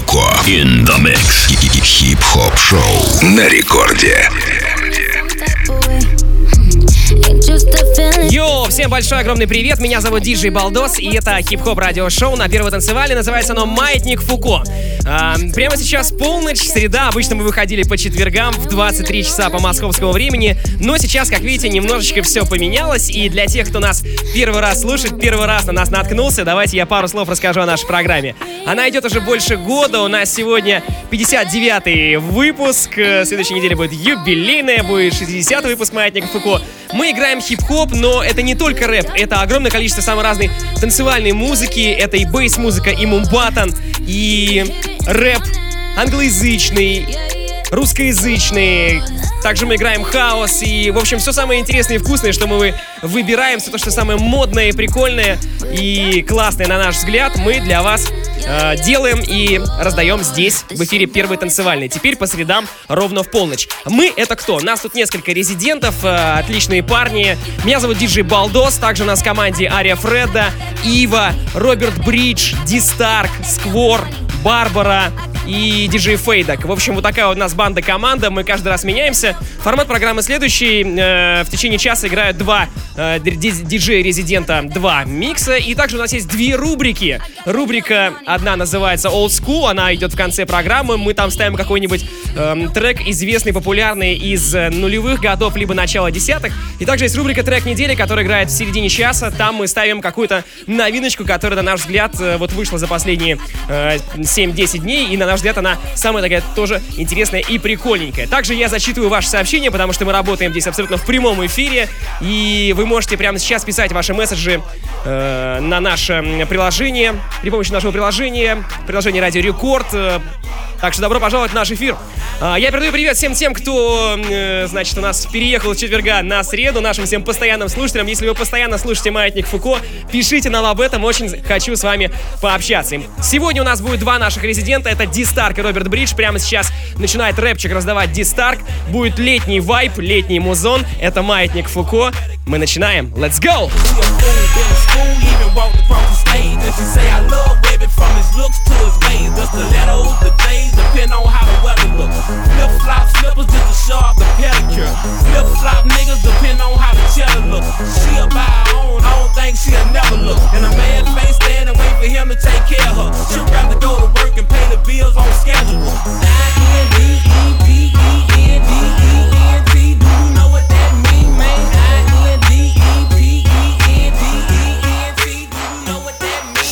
Фуко in the mix. Хип-хоп шоу на рекорде. Йоу, всем большой огромный привет, меня зовут Диджей Балдос, и это хип-хоп радиошоу на Первой танцевальной, называется оно «Маятник Фуко». Прямо сейчас полночь, среда, обычно мы выходили по четвергам в 23 часа по московскому времени, но сейчас, как видите, немножечко все поменялось, и для тех, кто нас первый раз слушает, первый раз на нас наткнулся, давайте я пару слов расскажу о нашей программе. Она идет уже больше года, у нас сегодня 59-й выпуск, в следующей неделе будет юбилейная, будет 60-й выпуск «Маятника Фуко». Мы играем хип-хоп, но это не только рэп, это огромное количество самой разной танцевальной музыки, это и бейс-музыка, и мумбатон, и рэп англоязычный, русскоязычный. Также мы играем хаос и, в общем, все самое интересное и вкусное, что мы выбираем, все то, что самое модное и прикольное и классное, на наш взгляд, мы для вас делаем и раздаем здесь, в эфире Первой танцевальной. Теперь по средам ровно в полночь. Мы — это кто? Нас тут несколько резидентов, отличные парни. Меня зовут Диджей Балдос, также у нас в команде Ария Фредда, Ива, Роберт Бридж, Ди Старк, Сквор, Барбара и диджей Фейдак. В общем, вот такая вот у нас банда-команда, мы каждый раз меняемся. Формат программы следующий. В течение часа играют два диджея-резидента, два микса. И также у нас есть две рубрики. Рубрика одна называется Old School, она идет в конце программы. Мы там ставим какой-нибудь трек, известный, популярный из нулевых годов, либо начала десятых. И также есть рубрика Трек недели, которая играет в середине часа. Там мы ставим какую-то новиночку, которая, на наш взгляд, вот вышла за последние 7-10 дней. И, на наш взгляд, она самая такая тоже интересная и прикольненькая. Также я зачитываю ваши сообщения, потому что мы работаем здесь абсолютно в прямом эфире. И вы можете прямо сейчас писать ваши месседжи на наше приложение, при помощи нашего приложения Радио Рекорд. Так что добро пожаловать в наш эфир. Я передаю привет всем тем, кто, значит, у нас переехал с четверга на среду, нашим всем постоянным слушателям. Если вы постоянно слушаете «Маятник Фуко», пишите нам об этом, очень хочу с вами пообщаться. Сегодня у нас будет два наших резидента, это Ди Старк и Роберт Бридж. Прямо сейчас начинает рэпчик раздавать Ди Старк. Будет летний вайб, летний музон. Это «Маятник Фуко». Мы начинаем. Let's go! Depend on how the weather look. Flip-flop slippers just to show off the pedicure. Flip-flop niggas depend on how the cheddar look. She'll buy her own, I don't think she'll never look. And a man face stand and wait for him to take care of her. She'd rather go to work and pay the bills on schedule. I-N-D-E-P-E-N-D-E-N-T. Do you know what that mean, man? I-N-D-E-P-E-N-D-E-N-T. Do you know what that mean?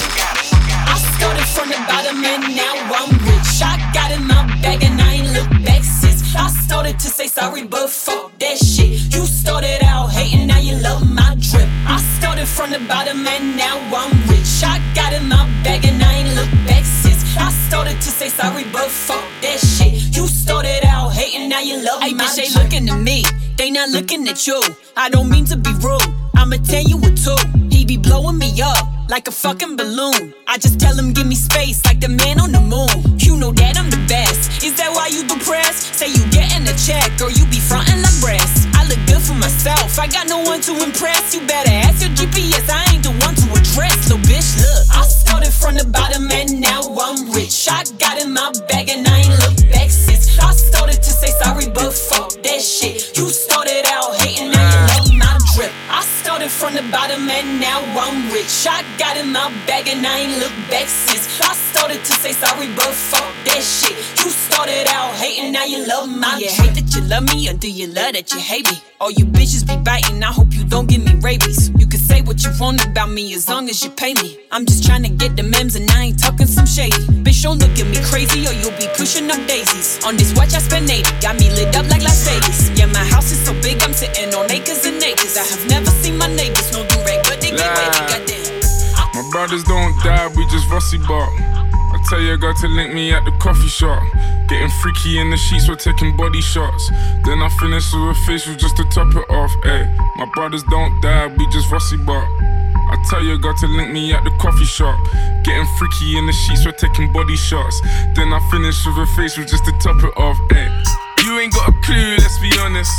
I started from the bottom and now I'm rich. I got in my bag and I ain't look back since. I started to say sorry, but fuck that shit. You started out hating, now you love my drip. I started from the bottom and now I'm rich. I got in my bag and I ain't look back since. I started to say sorry, but fuck that shit. You started out hating, now you love my drip. Ay, bitch, they looking at me, they not looking at you. I don't mean to be rude, I'ma tell you what to. He be blowing me up like a fucking balloon. I just tell him give me space like the man on the moon. You know that I'm the best. Is that why you depressed? Say you getting a check or you be frontin' like breast. I look good for myself, I got no one to impress. You better ask your GPS, I ain't the one to address. Little bitch, look, I started from the bottom and now I'm rich. I got in my bag and I ain't looked back since. I started to say sorry, but fuck that shit. You started out hating, now you love my drip. I started from the bottom and now I'm rich. I got in my bag and I ain't looked back since. I started to say sorry, but fuck that shit. You started out hating, now you love my drip. Do you hate that you love me or do you love that you hate me? All you bitches be biting, I hope you don't give me rabies. You can say what you want about me as long as you pay me. I'm just trying to get the memes and I ain't talking some shady. Bitch, don't look at me crazy or you'll be pushing up daisies. On this watch I spend 80, got me lit up like Las Vegas. Yeah, my house is so big I'm sitting on acres and acres. I have never seen my neighbors, no do-rag, but they get wavy, goddamn. My brothers don't die, we just Rossi bark. I tell your girl to link me at the coffee shop. Getting freaky in the sheets, we're taking body shots. Then I finish with a facial just to top it off, ayy. My brothers don't die, we just Rossi bark. I tell your girl to link me at the coffee shop. Getting freaky in the sheets, we're taking body shots. Then I finish with a facial just to top it off, ayy. You ain't got a clue, let's be honest.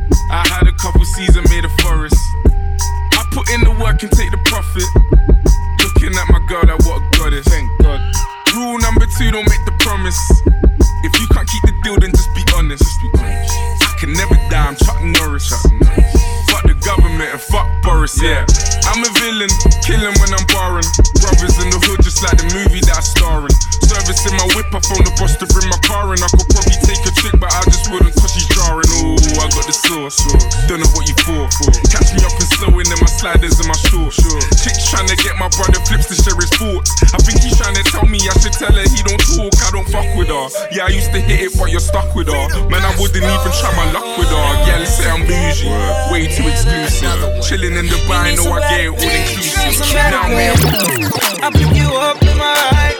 I had a couple seasons made a forest. I put in the work and take the profit. Looking at my girl, like what a goddess. Thank God. Rule number two, don't make the promise. If you can't keep the deal, then just be honest. I can never die, I'm Chuck Norris. Fuck the government and fuck Boris, yeah. I'm a villain, killing when I'm barring. Brothers in the hood, just like the movie that I star in. Service in my whip, I phone the boss to bring my car in. I could probably take a chick, but I just wouldn't cause she's jarring. Ooh, I got the sauce, don't know what you for. Catch me up and sewing in my sliders and my shorts. Chick's trying to get my brother Flips to share his thoughts. I think he's trying to tell me I should tell her he don't talk, I don't fuck with her. Yeah, I used to hit it, but you're stuck with her. Man, I wouldn't even try my luck with her. Yeah, let's say I'm bougie, way too exclusive. Chilling in Dubai, know I get it all inclusive. Now me, I'll pick you up in my ride.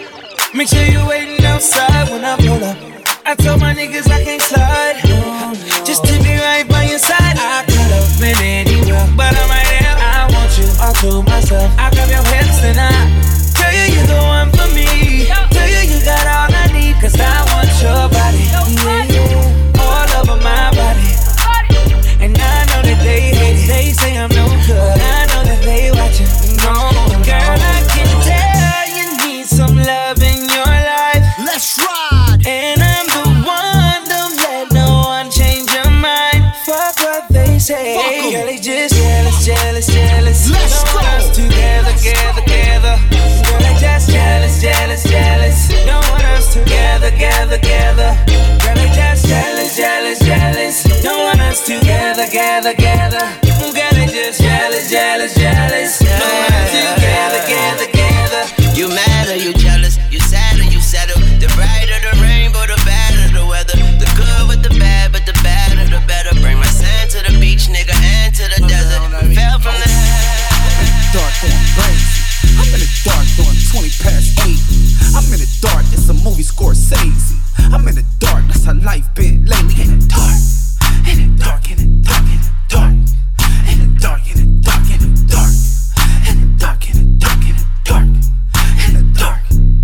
Make sure you waiting outside when I pull up. I told my niggas I can't slide. Just to be right by your side. I could have been anywhere, but I'm right here. I want you all to myself. I grab your hips and I tell you you're the one for me. Tell you you got all I need, cause I want your body. Yeah, all over my body. And I know that they hate it. They say I'm no good. I know that they watching. No, girl, I can tell you need some love in your life. Let's ride. And I'm the one, don't let no one change your mind. Fuck what they say. Girl, they just jealous, jealous, jealous. Let's don't go. want us together, together, together. Girl, they just jealous, jealous, jealous. Don't want us together, together, together. Girl, they just jealous, jealous, jealous. Don't want us together, together, together. Girl, they just jealous, jealous, jealous. Don't want us together, together, together. You mad or you jealous? You sad or you settle? The brighter the rainbow, the badder the weather. The good with the bad, but the badder the better. Bring my sand to the beach, nigga, and to the desert. Fell from the dark going crazy. I'm in the dark doing 20 past 8. I'm in the dark, it's a movie Scorsese. I'm in the dark, that's how life been lately. In the dark, in the dark, in the dark, in the dark. In the dark, in the dark, in the dark. In the dark, in the dark, in the dark. In the dark.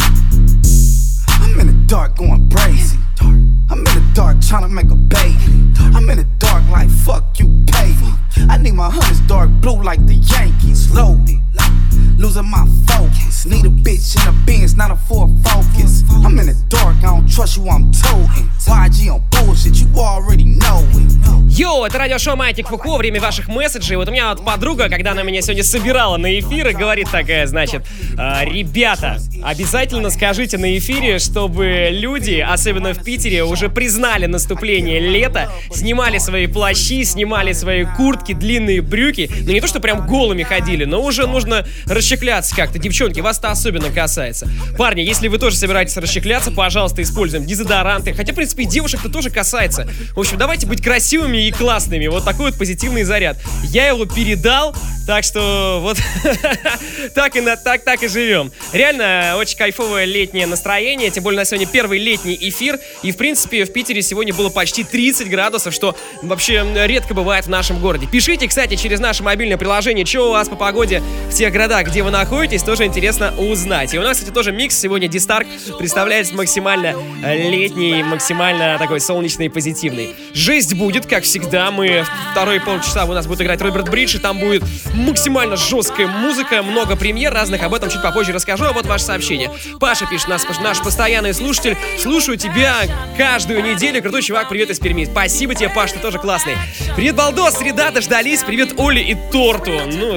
I'm in the dark going crazy. I'm in the dark trying to make a baby. I'm in the dark like fuck you pay me. I need my hunters dark blue like the Yankees. Loaded, losing my focus. Need a bitch in a Benz, not a Ford Focus. I'm in the dark, I don't trust you, I'm toting. YG on bullshit, you already know it. Йоу, это радиошоу «Маятник Фуко», время ваших месседжей. Вот у меня вот подруга, когда она меня сегодня собирала на эфир, говорит такая, значит, ребята, обязательно скажите на эфире, чтобы люди, особенно в Питере, уже признали наступление лета, снимали свои плащи, снимали свои куртки, длинные брюки. Ну не то, что прям голыми ходили, но уже нужно расщекляться как-то. Девчонки, вас-то особенно касается. Парни, если вы тоже собираетесь расщекляться, пожалуйста, используем дезодоранты. Хотя, в принципе, и девушек-то тоже касается. В общем, давайте быть красивыми и классными. Вот такой вот позитивный заряд. Я его передал, так что вот так и живем. Реально, очень кайфовое летнее настроение. Тем более, у нас сегодня первый летний эфир. И, в принципе, в Питере сегодня было почти 30 градусов, что вообще редко бывает в нашем городе. Пишите, кстати, через наше мобильное приложение, что у вас по погоде в тех городах, где вы находитесь. Тоже интересно узнать. И у нас, кстати, тоже микс. Сегодня D-Stark представляется максимально летний, максимально такой солнечный и позитивный. Жесть будет, как всегда. Мы вторые полчаса у нас будет играть Роберт Бридж, и там будет максимально жесткая музыка, много премьер разных. Об этом чуть попозже расскажу. А вот ваше сообщение. Паша пишет, наш постоянный слушатель. Слушаю тебя каждую неделю. Крутой чувак, привет из Перми. Спасибо тебе, Паш, ты тоже классный. Привет, Балдос, среда, дождались. Привет, Оле и Торту. Ну,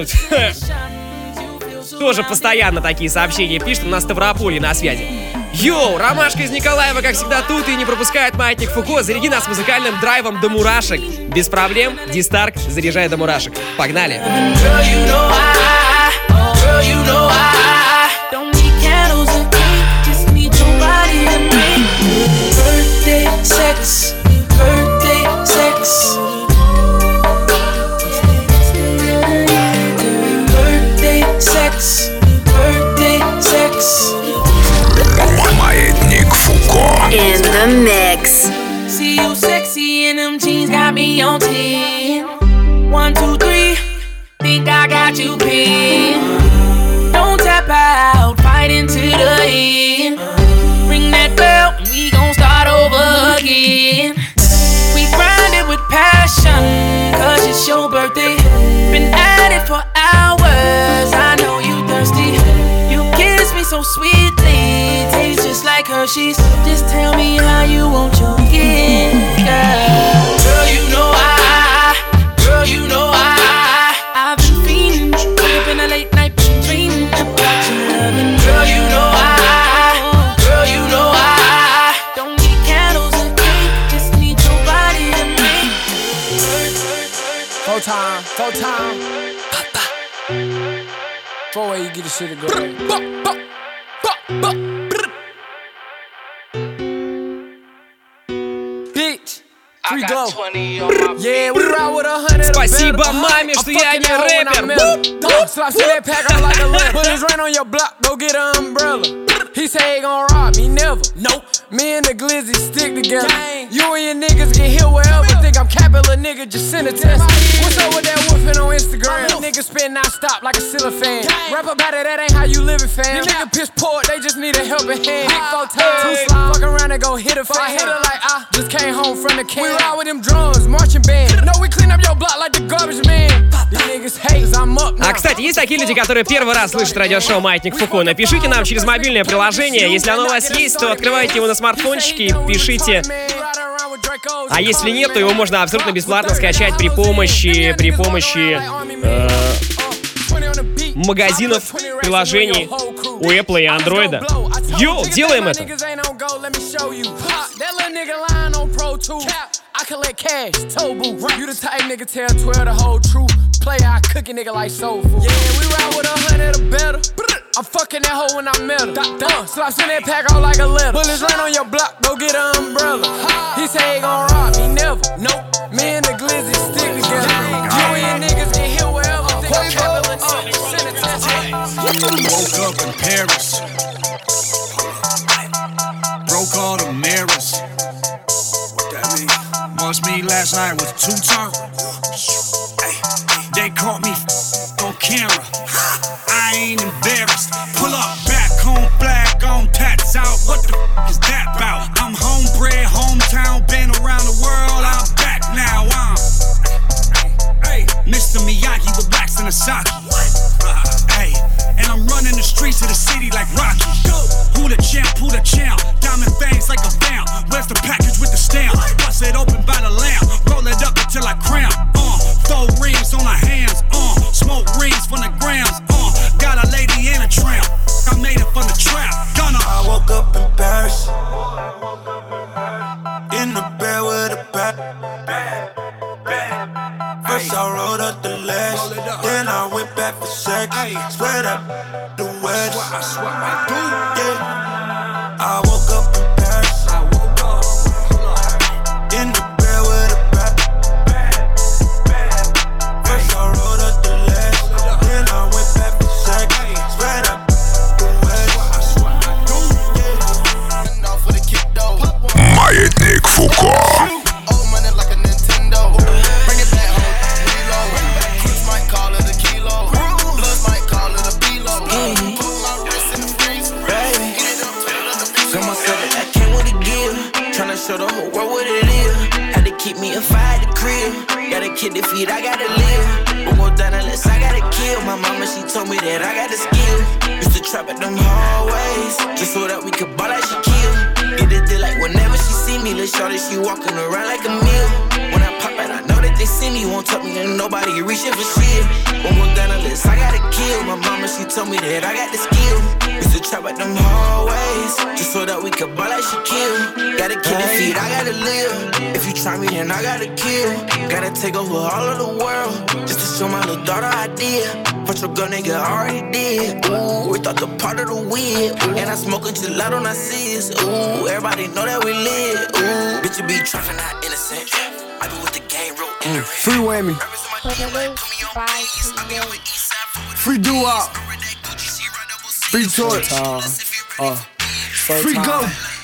тоже постоянно такие сообщения пишет. У нас Ставрополье на связи. Йоу, Ромашка из Николаева, как всегда, тут и не пропускает Маятник Фуко. Заряди нас музыкальным драйвом до мурашек. Без проблем, D-Stark, заряжай до мурашек. Погнали! Маятник Фуко. In the mix. See you sexy in them jeans, got me on 10. 1, 2, 3, think I got you pinned. Don't tap out, fight into the end. Ring that bell, and we gon' start over again. We grinded with passion, cause it's your birthday. Been at it for hours, I know you thirsty. You kiss me so sweetly, tastes just the sheets. Just tell me how you want your kiss, girl. Girl, you know I've been fiending. Wake up in the late night, dreaming about your loving. Girl, you know I don't need candles and cake, just need your body to make. Four time. 4 way you get the shit to go. Bitch. Free glow. Yeah, we ride with 100. Спасибо маме, что я не рэпер. Slap that pack on like a letter. Put his rent on your block, go get an umbrella. He say he gon' rob me, never. Nope. Me and the glizzy stick together. You and your niggas get hit wherever. Think I'm capping, little nigga, just send a test. What's up with that woofing on Instagram? Niggas spin non-stop like a cellophane. Rap about it, that ain't how you living, fam. These niggas piss poor, they just need a helping hand. Big 4 times, 2 slime, fuck around and go hit a fan. I hit her like I just came home from the camp. We ride with them drums, marching band. No, we clean up your block like the garbage man. These niggas hate, I'm up now. А, кстати, есть такие люди, которые первый раз слышат радиошоу «Маятник Фуко». Напишите нам через мобильное приложение. Если оно у вас есть, то открывайте его на смартфончике и пишите. А если нет, то его можно абсолютно бесплатно скачать при помощи магазинов приложений у Apple и Android. Йоу, делаем это! I collect cash, toe boo. You the type nigga tell 12 the whole truth. Play I cook a nigga like soul food. Yeah, we ride with 100 or better. I'm fucking that hoe when I met her. Slaps in that pack all like a letter. Bullets run on your block, go get an umbrella. He say he gon' rob me, never. Nope. Me and the glizzy stick together. You and your niggas get hit wherever. Think I'm capital send it to Woke up in Paris. Broke all the mirrors. Must me last night was 2 times. They caught me on camera. I ain't embarrassed. Pull up back home, flag on, tats out. What the is that about? I'm homebred, hometown, been around the world. I'm back now. Mr. Miyagi with wax and a sake. And I'm running the streets of the city like Rocky. Who the champ? Diamond fangs like a vamp. Where's the package with the stamp? Bust it open by the lamp. Roll it up until I cramp. 4 rings on our hands. Smoke rings from the grams. Got a lady and a tramp. I made it from the trap. Gunner. I woke up in Paris. In the bed with a bat. First I rolled up the legs, then I went back for sex. Swear that the wedge. Yeah. I woke up in Paris. In the bed with a bat. First I rolled up the legs, then I went back for sex. Swear that the wedge. Маятник Фуко. Show the whole world what it is. Had to keep me a fire at the crib. Gotta kill the feet, I gotta live. Won't go down unless I gotta kill. My mama, she told me that I got the skill. Used to trap at them hallways, just so that we could ball like Shaquille. Get it deal like whenever she see me, little shorty, she walking around like a meal. When I pop out, I know that they see me. Won't talk me and nobody reaching for shit. Won't go down unless I gotta kill. My mama, she told me that I got the skill. Used to trap at them hallways, just so that we could ball like Shaquille. Gotta kill the feet, I gotta live. If you try me, then I gotta kill. Gotta take over all of the world, just to show my little daughter I did. But your girl nigga already did. Ooh, we thought the part of the weed. And I smoke a gelato on our seas. Ooh, everybody know that we live. Ooh, bitch, you be trapping, not innocent. I be with the game, real ignorant. Free whammy. Free doo-wop. Free torch. Free go.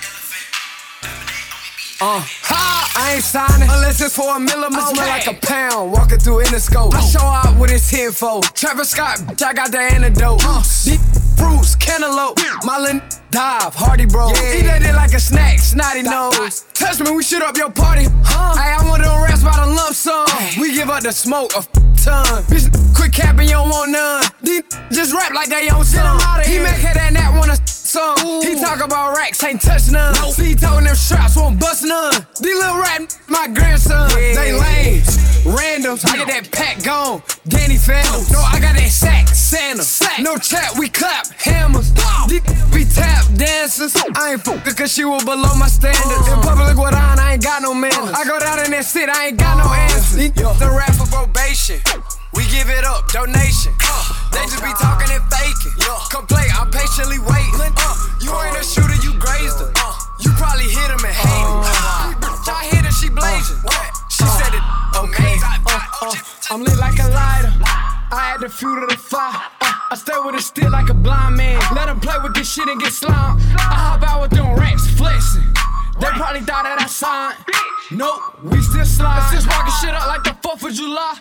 I ain't signing unless it's for a miller. Must smell like a pound. Walking through Interscope. I show out with his info. Travis Scott, bitch, I got the antidote. fruits, cantaloupe. My little dive, Hardy bro. Yeah. Eat that dick like a snack, snotty nose. Touch me, we shoot up your party. Ay, I want them rats by the lump sum. We give up the smoke a ton. Bitch, quit capping, you don't want none. These just rap like they own some. He make her that nap wanna some. He talk about racks, ain't touch none. See, he talking them straps, won't bust none. These little rap, my grandson. They lame, randoms. I get that pack gone. Danny Phantoms. No, I got that sack, Santa. No chat, we clap, hammers. These be tap dancers. I ain't fuckin' cause she was below my standards. In public with on, I ain't got no manners. I go down in that shit, I ain't got no answers. The rap for probation. We give it up, donation. They just be talking and faking. Complain, I'm patiently waiting. You ain't a shooter, you grazed her. You probably hit him and hate him. I hit her, she blazing. She said it amazing. I'm lit like a lighter. I add the fuel to the fire. I stay with it still like a blind man. Let him play with this shit and get slimed. I hop out with them racks, flexing. They probably thought that I signed. Nope, we still slide. Just walking shit up like the 4th of July.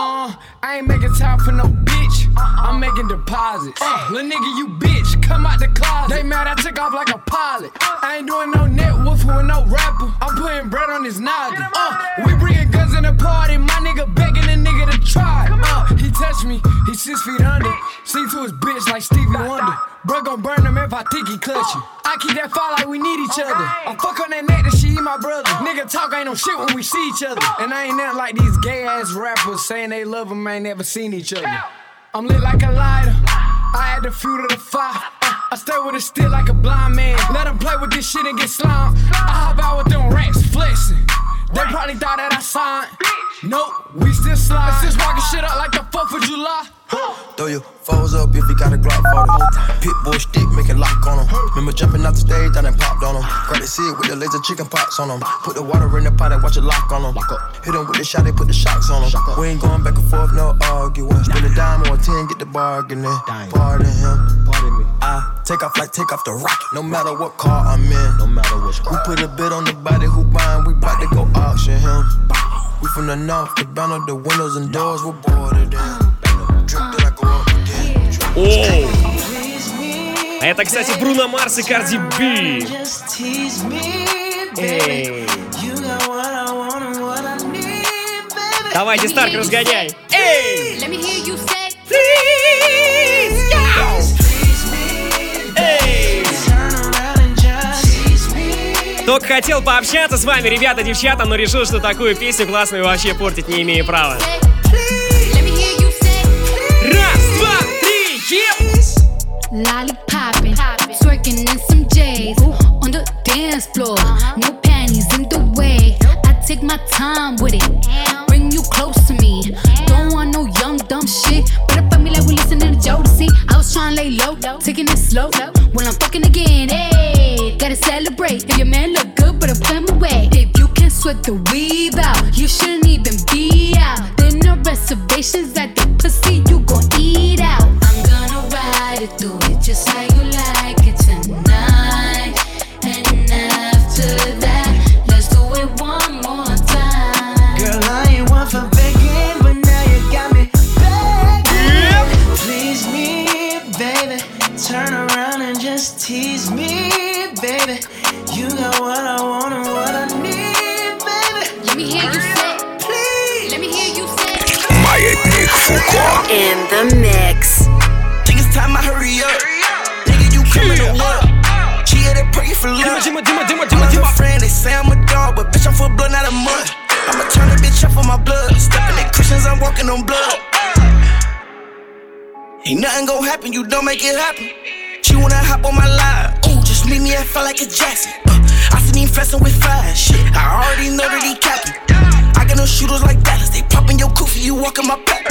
I ain't making time for no bitch. I'm making deposits. Lil' nigga, you bitch, come out the closet. They mad I took off like a pilot. I ain't doing no net woofing with no rapper. I'm putting bread on his noggin. We bringing guns in the party. My nigga begging a nigga to try. He touched me, he's 6 feet under. Sing to his bitch like Stevie Wonder. Bro gon' burn him if I think he clutch you. I keep that fire like we need each other. I fuck on that neck that she eat my brother. Nigga talk ain't no shit when we see each other. And I ain't nothing like these gay ass rappers saying they love him, ain't never seen each other. I'm lit like a lighter. I add the fuel to the fire. I stay with it still like a blind man. Let him play with this shit and get slimed. I hop out with them racks, flexing. They probably thought that I signed. Nope, we still slide. Just walking shit up like the 4th of July. Throw your foes up if you got a Glock for them. Pitbull stick, make it lock on them. Remember jumping off the stage, I done popped on them. Grab the seed with the laser chicken pots on them. Put the water in the pot and watch it lock on them. Hit them with the shot, they put the shocks on them. We ain't going back and forth, no arguing. Spend a dime or a 10, get the bargaining. Pardon him, pardon me. I take off like take off the rocket, no matter what car I'm in. No matter what squad. We put a bid on the body who buying, we bout to go auction him. We from the north, the banner, the windows and doors were boarded in. Это, кстати, Бруно Марс и Карди Би. Давайте, Старк, разгоняй. Эй! Только хотел пообщаться с вами, ребята, девчата, но решил, что такую песню классную вообще портить не имею права. Lollipoppin', twerking in some J's on the dance floor. No panties in the way. I take my time with it. Bring you close to me. Don't want no young dumb shit. Better fuck me like we listening to Jodeci. I was trying to lay low, taking it slow. When I'm fucking again, hey, gotta celebrate. If your man look good, better put him away. If you can sweat the weave out, you shouldn't even be out. There no reservations at the pussy, you gon' eat out. I'm gonna ride it through it just how you like it tonight. And after that, let's do it one more time. Girl, I ain't one for begging, but now you got me begging. Please me, baby. Turn around and just tease me, baby. You got what I want and what I need, baby. Let me hear you say, please. Let me hear you say. Маятник Фуко. In the mix. Think it's time I hurry up. Nigga, you coming to what? She had that pray for love. I'm her friend, they say I'm a dog, but bitch, I'm full blood, not a mud. I'ma turn a bitch up for my blood. Stepping in Christians, I'm walking on blood. Ain't nothing gon' happen, you don't make it happen. She wanna hop on my line. Ooh, just meet me, I feel like a Jackson. I seen him flexing with fire. Shit, I already know that he capping. I got no shooters like Dallas. They poppin' your koofy, you walkin' my back.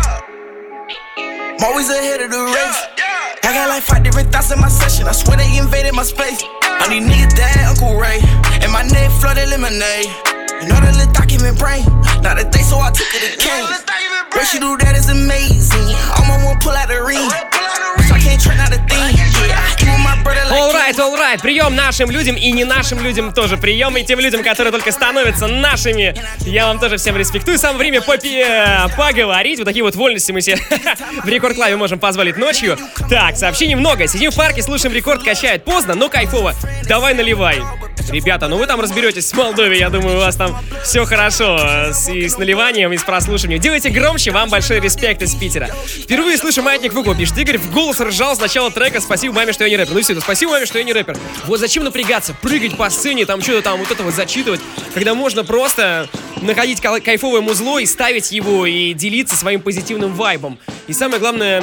I'm always ahead of the race. I got like 5 different thoughts in my session. I swear they invaded my space. I need niggas that Uncle Ray. And my neck flooded lemonade. You know that little document brain. Not a day, so I took it again. Girl, she do that is amazing. Almost won't pull out the ring. Bitch, I can't try not a thing. Yeah, even my brother like Alright. Прием нашим людям и не нашим людям тоже прием. И тем людям, которые только становятся нашими. Я вам тоже всем респектую. Самое время поговорить. Вот такие вот вольности мы себе в Рекорд Клабе можем позволить ночью. Так, сообщений много. Сидим в парке, слушаем Рекорд, качает поздно, но кайфово. Давай наливай. Ребята, ну вы там разберетесь с Молдовой. Я думаю, у вас там все хорошо и с наливанием, и с прослушиванием. Делайте громче, вам большой респект из Питера. Впервые слышу «Маятник Фуко», пишет Игорь, в голос ржал с начала трека. Спасибо маме, что я не рэпер. Ну все, спасибо маме, что я не рэпер. Вот зачем напрягаться, прыгать по сцене, там что-то там вот это вот зачитывать, когда можно просто находить кайфовое музло и ставить его, и делиться своим позитивным вайбом. И самое главное,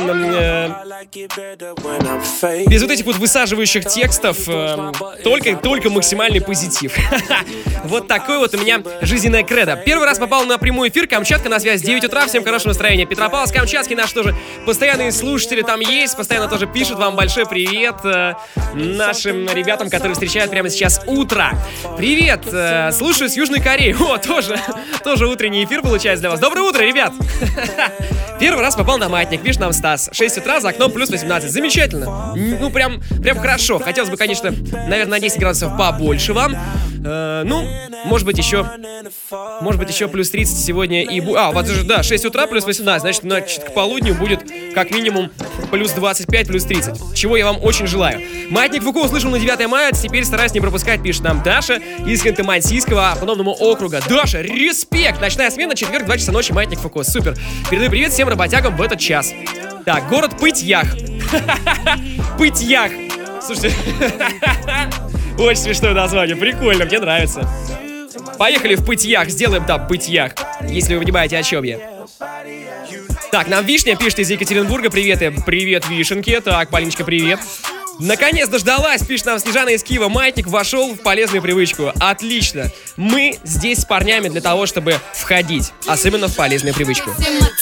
без вот этих вот высаживающих текстов, только максимальный позитив. Вот такой вот у меня жизненная кредо. Первый раз попал на прямой эфир, Камчатка на связь, 9 утра, всем хорошего настроения. Петропавловск-Камчатский наш тоже постоянные слушатели там есть, постоянно тоже пишут, вам большой привет нашим ребятам, которые встречают прямо сейчас утро. Привет, слушаю с Южной Кореи. О, тоже утренний эфир получается для вас. Доброе утро, ребят! Первый раз попал на маятник, пишет нам Стас. 6 утра, за окном плюс 18. Замечательно. Ну, прям хорошо. Хотелось бы, конечно, наверное, на 10 градусов побольше вам. Ну, может быть, еще плюс 30 сегодня и... вот же, да, 6 утра плюс 18. Значит, к полудню будет как минимум плюс 25, плюс 30. Чего я вам очень желаю. Маятник Фуко услышал на 9 мая, теперь стараюсь не пропускать, пишет нам Даша из Ханты-Мансийского автономного округа. Даша, респект! Ночная смена, четверг, 2 часа ночи, Маятник Фуко. Супер. Передаю привет всем работягам в этот час. Так, город Пыть-Ях. Пыть-Ях. Слушайте, очень смешное название, прикольно, мне нравится. Поехали в Пыть-Ях, сделаем там Пыть-Ях, если вы понимаете, о чем я. Так, нам Вишня пишет из Екатеринбурга. Привет, Вишенке. Так, Полиночка, привет. Наконец дождалась, пишет нам Снежана из Киева. Маятник вошел в полезную привычку. Отлично. Мы здесь с парнями для того, чтобы входить, особенно в полезную привычку.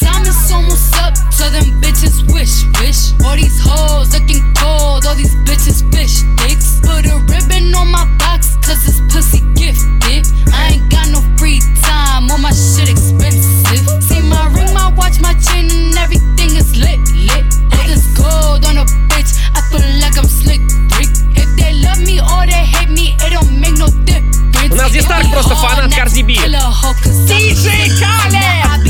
У нас здесь Старк просто фанат Cardi B. DJ Khaled!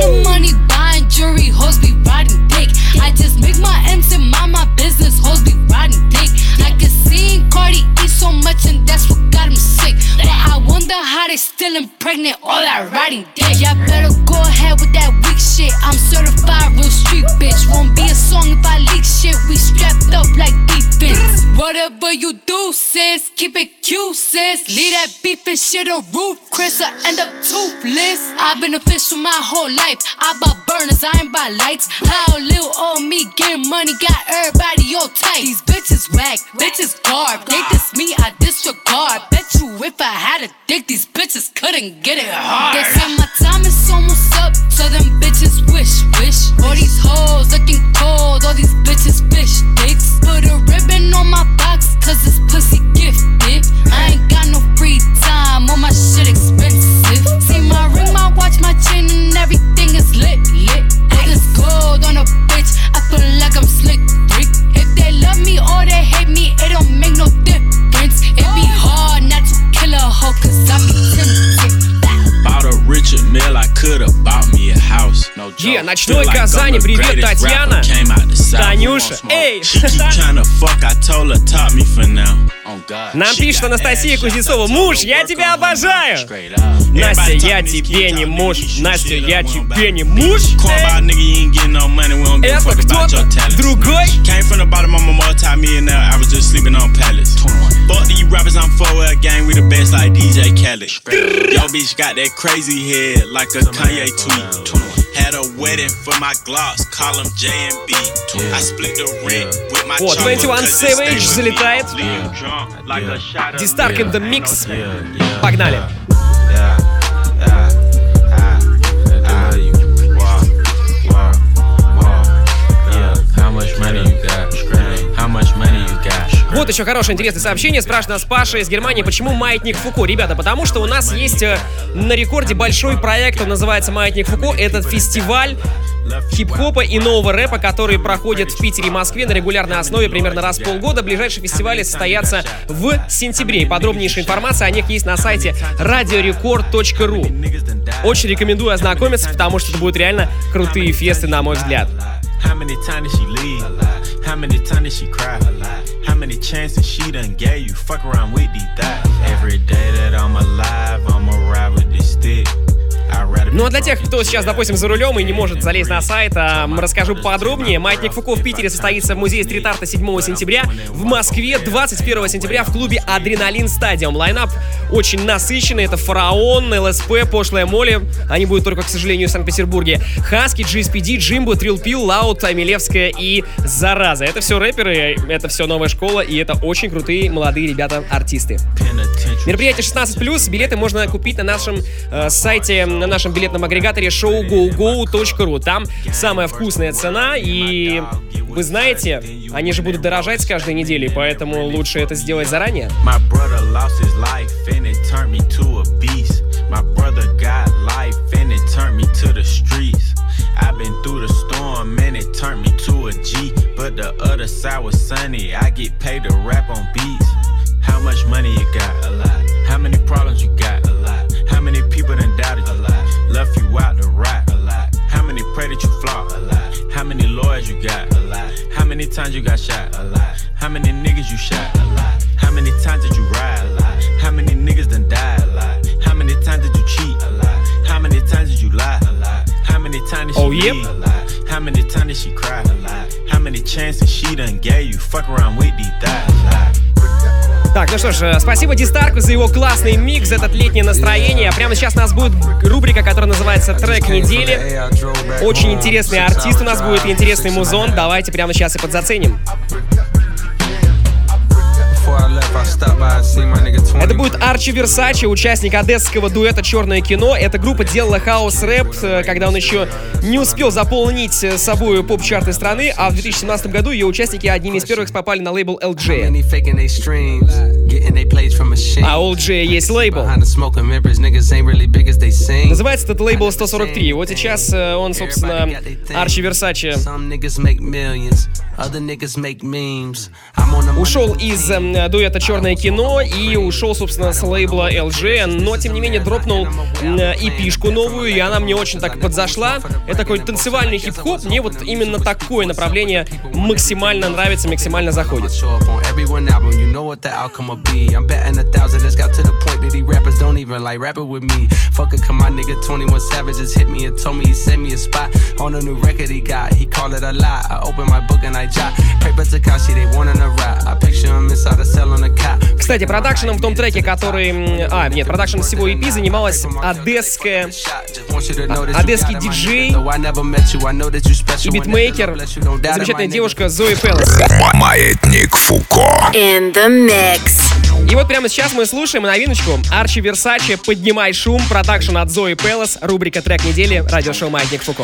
Still impregnant all that riding dick. Y'all better go ahead with that weak shit. I'm certified real street bitch. Won't be a song if I leak shit. We strapped up like defense. Whatever you do, sis, keep it cute, sis. Leave that beef and shit a roof, Chris, I end up toothless. I've been official my whole life. I bought burners, I ain't buy lights. How little old me getting money got everybody all tight. These bitches whack, bitches garb. They diss me, I disregard. Bet you if I had a dick, these bitches couldn't get it hard. They say my time is almost up, so them bitches wish. All these hoes looking cold, all these bitches fish dicks. Put a ribbon on my box, cause this pussy gifted. I ain't got no free time, all my shit expensive. See my ring, my watch, my chain, and everything is lit. All this gold on a bitch, I feel like I'm slick Rick. If they love me or they hate me, it don't make no difference. It be hard not to kill a hoe, cause I be tempted. Bought a Richard Mill, I could've bought me a house. No joke. Ночной Казани, привет, Татьяна. Танюша, эй! Нам пишет Анастасия Кузнецова. Муж, я тебя обожаю! Настя, я тебе не муж. Настя, я тебе не муж. Это кто-то другой? Had a wedding for my Glocks, call them J&B. I split the rent with my 21 Savage залетает. D-Stark in the mix. Погнали. How much money you got? How much money you got? Вот еще хорошее интересное сообщение. Спрашивает нас Паша из Германии, почему «Маятник Фуко». Ребята, потому что у нас есть на рекорде большой проект, он называется «Маятник Фуко». Это фестиваль хип-хопа и нового рэпа, который проходит в Питере и Москве на регулярной основе примерно раз в полгода. Ближайшие фестивали состоятся в сентябре. Подробнейшая информация о них есть на сайте radiorecord.ru. Очень рекомендую ознакомиться, потому что это будут реально крутые фесты, на мой взгляд. Ну а для тех, кто сейчас, допустим, за рулем и не может залезть на сайт, расскажу подробнее. «Маятник Фуко» в Питере состоится в музее стрит-арта 7 сентября, в Москве 21 сентября в клубе «Адреналин Стадиум». Лайнап очень насыщенный. Это «Фараон», ЛСП, «Пошлая Молли». Они будут только, к сожалению, в Санкт-Петербурге. «Хаски», GSPD, Джимбо, Трилл Пил, Лаут, Амилевская и «Зараза». Это все рэперы, это все новая школа, и это очень крутые молодые ребята-артисты. Мероприятие 16+, билеты можно купить на нашем сайте, на нашем билетном агрегаторе showgogo.ru. Там самая вкусная цена, и вы знаете, они же будут дорожать с каждой недели, поэтому лучше это сделать заранее. How much money you got? A lot. How many problems you got? A lot. How many people done doubted you? A lot. Left you out to rot? A lot. How many pray that you flop? A lot. How many lawyers you got? A lot. How many times you got shot? A lot. How many niggas you shot? A lot. How many times did you ride? A lot. How many niggas done died? A lot. How many times did you cheat? A lot. How many times did you lie? A lot. How many times did she leave? A lot. How many times did she cry? A lot. How many chances she done gave you? Fuck around with these thighs. A lot. Так, ну что ж, спасибо Дистарку за его классный микс, этот летнее настроение. Прямо сейчас у нас будет рубрика, которая называется «Трек недели». Очень интересный артист у нас будет и интересный музон. Давайте прямо сейчас и подзаценим. Это будет Арчи Версачи, участник одесского дуэта «Черное кино». Эта группа делала хаус-рэп, когда он еще не успел заполнить собой поп-чарты страны, а в 2017 году ее участники одними из первых попали на лейбл LJ. А у LJ есть лейбл. Называется этот лейбл 143. Вот сейчас он, собственно, Арчи Версачи ушел из дуэта «Черное кино» и ушел, собственно, с лейбла LG, но, тем не менее, дропнул EP-шку новую, и она мне очень так подзашла. Это такой танцевальный хип-хоп, мне вот именно такое направление максимально нравится, максимально заходит. Кстати, продакшеном в том треке, который... продакшеном всего EP занималась одесский диджей и битмейкер, замечательная девушка Зои Пелос. Маятник Фуко. In the mix. И вот прямо сейчас мы слушаем новиночку Арчи Версачи «Поднимай шум», продакшн от Зои Пелос, рубрика «Трек недели», радиошоу «Маятник Фуко».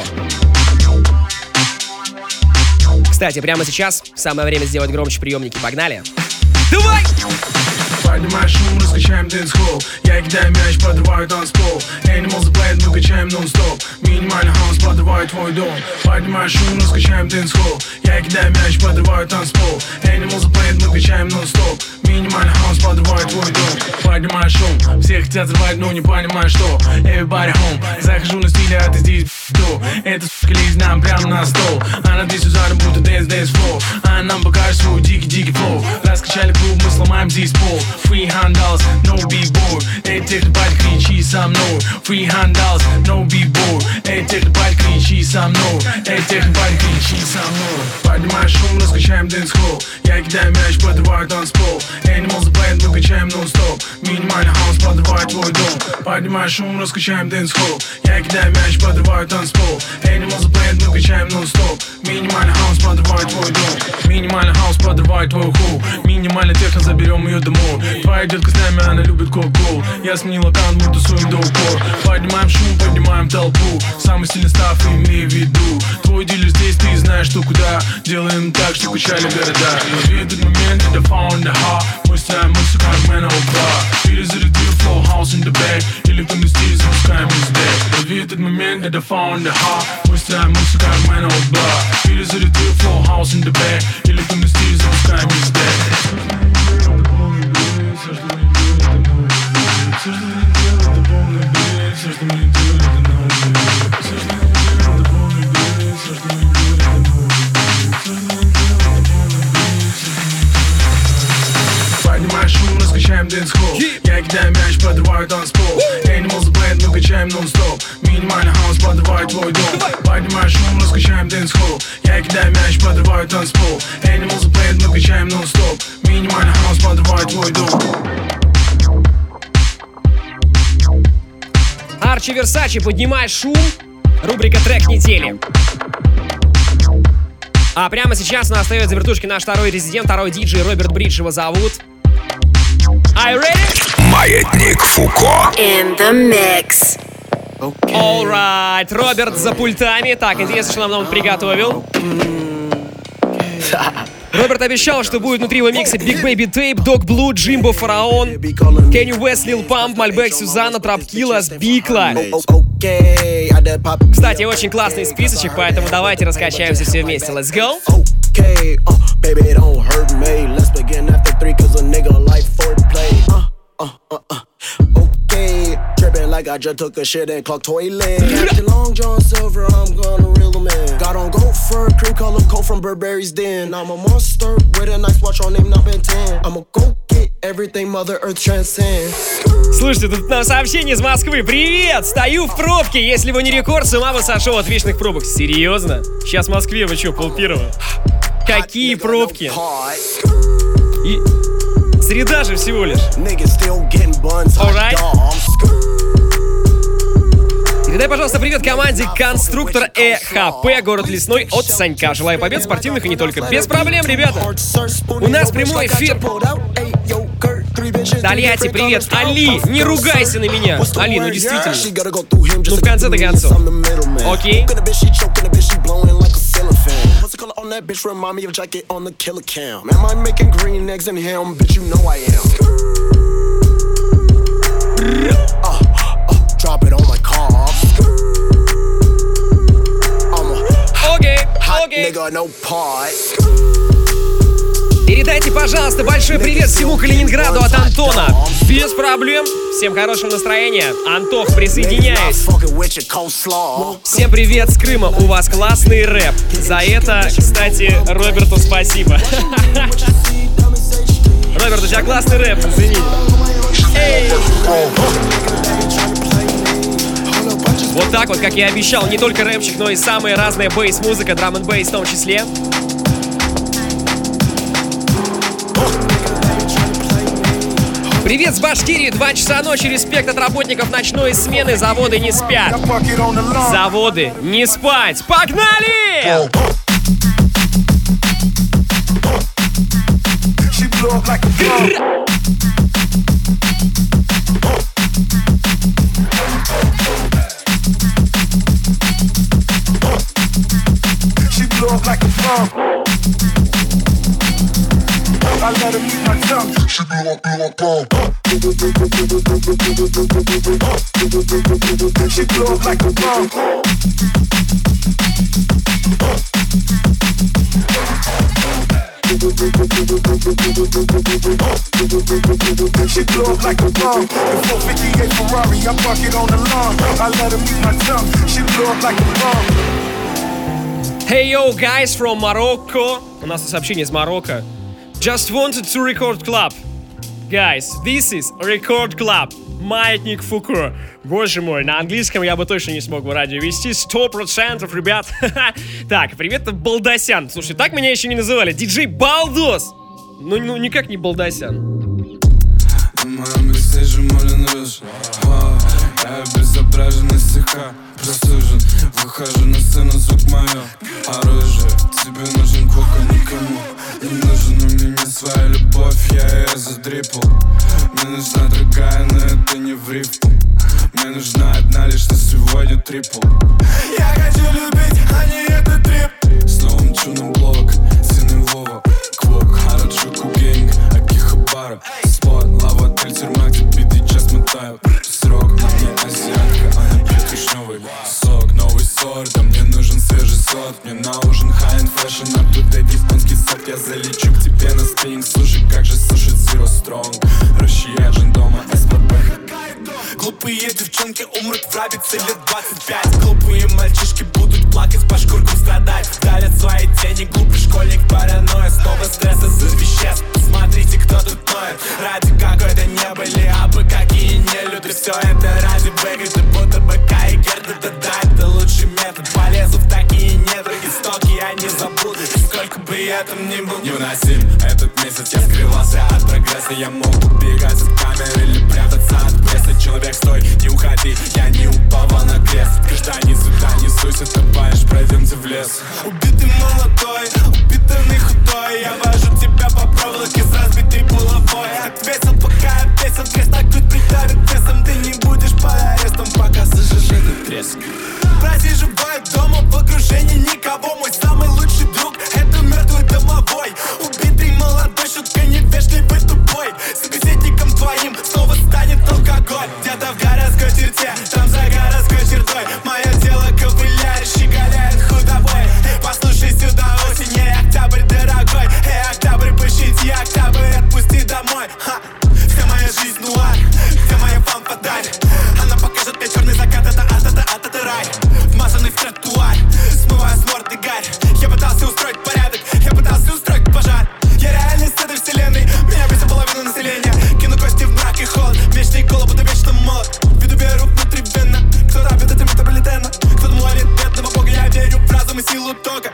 Кстати, прямо сейчас самое время сделать громче приемники. Погнали! Давай! Поднимай шум, раскачаем дэнс-холл. Я кидаю мяч, подрываю танцпол. Animals play, мы качаем нон-стоп. Минимальный хаос, подрываю твой дом. Поднимай шум, раскачаем дэнс-холл. Я кидаю мяч, подрываю танцпол. Animals play, мы качаем нон-стоп. Минимальный хаос, подрываю твой дом. Поднимай шум, все хотят взрывать, но не понимаю, что. Everybody home, захожу на стиле, а ты здесь до. Это сука лезет нам прямо на стол. Она здесь ударом, будто dance flow. Она нам покажет свой дикий флоу. Раскачали клуб, мы сломаем здесь пол. Free handles, no b-boy. Эй, технопарь, кричи со мной. Free handles, no b-boy. Эй, технопарь, кричи со мной. Эй, технопарь, кричи со мной. Поднимай шум, раскачаем дэнс-холл. Я кидаю мяч, подрываю танцпол. Animals play, мы качаем нон-стоп. Минимальный хаос, подрывает твой дом. Поднимай шум, раскачаем дэнс-холл. Я кидаю мяч, подрываю танцпол. Animals play, мы качаем нон-стоп. Минимальный хаос, подрывает твой дом. Минимальный хаос, подрывает твой хоу. Минимальный техно, заберем ее домой. Твоя Моя детка с нами, она любит кока-колу. Я сменил аккаунт, мы тусуем до упора. Поднимаем шум, поднимаем толпу. Самый сильный став, имей в виду. Твой дилер здесь, ты знаешь, что куда. Делаем так, что качали города. Лови этот момент, это found the heart. Мы ставим музыку, как мэн бар. Или зарядил flow, house in the back. Или в стиле запускаем из deck. Лови этот момент, это found the heart. Мы ставим музыку, как мэн бар. Или зарядил flow, house in the back. Или в стиле запускаем из deck. Все, что мы делаем, это новый бит. Все, что мы делаем, это полный бит. Все, что мы делаем, это новый бит. Все, что мы делаем, это полный бит. Все, что мы делаем, это новый бит. Все, что мы делаем, это полный бит. Поднимаем шум, раскачаем дэнс-холл. Я кидаю мяч, подрываю танцпол. Animals Blend, мы качаем нон-стоп. Минимальный хаус, подрывает твой дом. Поднимаем шум, раскачаем дэнс-холл. Я кидаю мяч, подрываю танцпол. Animals Blend, мы качаем нон-стоп. Минимальный хаус, подрывает твой дом. Арчи Версачи, поднимай шум. Рубрика «Трек недели». А прямо сейчас у нас остается за вертушки наш второй резидент, второй диджей Роберт Бридж его зовут. Are you ready? Маятник Фуко. In the mix. Alright, Роберт за пультами. Так, интересно, что нам он приготовил. Роберт обещал, что будет внутри его микса Big Baby Tape, Dog Blue, Jimbo Фараон, Kanye West, Lil Pump, Malbec, Сюзанна, Трапкилас, Бикла. Кстати, очень классный списочек, поэтому давайте раскачаемся все вместе. Let's go! Okay, baby, don't hurt me. Let's begin after 3 cause a nigga like foreplay. Okay, tripping like I just took a shit and clocked toilet. Captain Long John Silver, I'm gonna reel him in. Got on gold fur, cream color coat from Burberry's Den. I'm a monster with a nice watch on name, not Ben 10. I'ma go get everything Mother Earth transcends. Слушайте, тут нам сообщение из Москвы. Привет! Стою в пробке. Если бы не рекорд, с ума бы сошел от вечных пробок. Серьезно? Сейчас в Москве вы что, полпирова? Какие пробки? И... Среда же всего лишь. Alright. Передай, пожалуйста, привет команде Конструктор ЭХП, город Лесной, от Санька. Желаю побед спортивных и не только. Без проблем, ребята. У нас прямой эфир. Тольятти, привет. Али, не ругайся на меня. Али, ну действительно. Ну в конце-то концов. Окей. On that bitch remind me of jacket on the killer cam. Am I making green eggs and ham? Bitch, you know I am. Drop it on my car. I'm a hot nigga, no part. Передайте, пожалуйста, большой привет всему Калининграду от Антона. Без проблем. Всем хорошего настроения. Антох, присоединяюсь. Всем привет с Крыма. У вас классный рэп. За это, кстати, Роберту спасибо. Роберт, у тебя классный рэп, зацени. Эй! Вот так вот, как я обещал, не только рэпчик, но и самая разная бейс-музыка, драм-н-бейс в том числе. Привет с Башкирии, 2 часа ночи, респект от работников ночной смены, заводы не спят. Заводы не спать, погнали! I let her eat my tongue. She blew up bomb. She blew up like a bomb. She blew up like a bomb. The 458 Ferrari, I park it on the lawn. I let her eat my tongue. She blew up like a bomb. Hey yo, guys from Morocco. У нас сообщение из Марокко. Just wanted to record club. Guys, this is record club. Маятник Фуко. Боже мой, на английском я бы точно не смог в радио вести. 100%, ребят. Так, привет, Балдосян. Слушай, так меня еще не называли. Диджей Балдос. Ну, никак не Балдосян. Маме сижу, молен рыж. Я безображен, если слегка просужен. Выхожу на сцену, звук мое оружие. Тебе нужен кока, никому не нужен. У меня своя любовь, я ее задрипал. Мне нужна другая, но это не в рифму. Мне нужна одна лишь на сегодня трипл. Я хочу любить, а не этот трип. С новым чуном блок, синий Вова, Квок, Хараджуку гейнг, Акихабара, спот, лава, отель, тюрьма, где биты час мотают. Срок, на мне азиатка, а не пьет вишневый сок. Новый сорт, а мне нужен свежий сорт. Мне на ужин high-end fashion, а тут японский сорт. Я залечу к тебе на спиннинг. Слушай, как же сушит Zero Strong. Россияжен дома, СПБ. Глупые девчонки умрут в рабице лет 25. Глупые мальчишки будут плакать, по шкуркам страдать. Давят свои тени, глупый школьник, паранойя. Снова стресс из-за веществ. Смотрите, кто тут ноет. Ради какой-то не были абы, какие нелюди. Все это ради выгоды, будто бы Кай и Герда. Да, это лучший метод. Полезу в такие недра, истоки я не забуду. Сколько бы я там ни был невыносим этот месяц, я скрывался от прогресса. Я мог убегать от камеры или прятаться от пресса. Человек, стой, не уходи, я не упал на крест. Гражданин сюда, не суйся, топаешь, пройдемте в лес. Убитый молодой, упитанный худой. Я вожу тебя по проволоке с разбитой булавой. Ответил, пока я песен, крест на грудь придавит весом. Ты не будешь под арестом, пока слышишь этот треск. Просиживаю дома в окружении никого. Мой самый лучший друг — это мертвый домовой. Убитый молодой, шутка невежливый тупой. Собеседником твоим снова станет алкоголь. Где-то в городской черте, там за городской чертой. Мое тело ковыляет, щеголяет худобой. Эй, послушай сюда, осень, эй, октябрь дорогой. Эй, октябрь, пощади, октябрь, отпусти домой. Ха. Вся моя жизнь нуар, где моя фан-фаталь. Она покажет мне черный закат, это рай. Вмазанный в тротуар, смывая с морды гарь. Я пытался устроить порядок, я пытался устроить пожар. Я реальность этой вселенной, меня бесит половина населения. Кину кости в мрак и холод, вечный голод, буду вечно молод. Виду беру внутривенно, кто рабит это метрополитена. Кто молит бедного бога, я верю в разум и силу тока.